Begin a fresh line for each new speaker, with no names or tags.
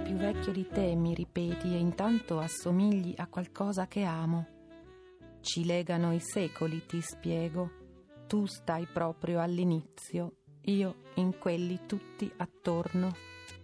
più vecchio di te, mi ripeti, e intanto assomigli a qualcosa che amo. Ci legano i secoli, ti spiego. Tu stai proprio all'inizio, io in quelli tutti attorno.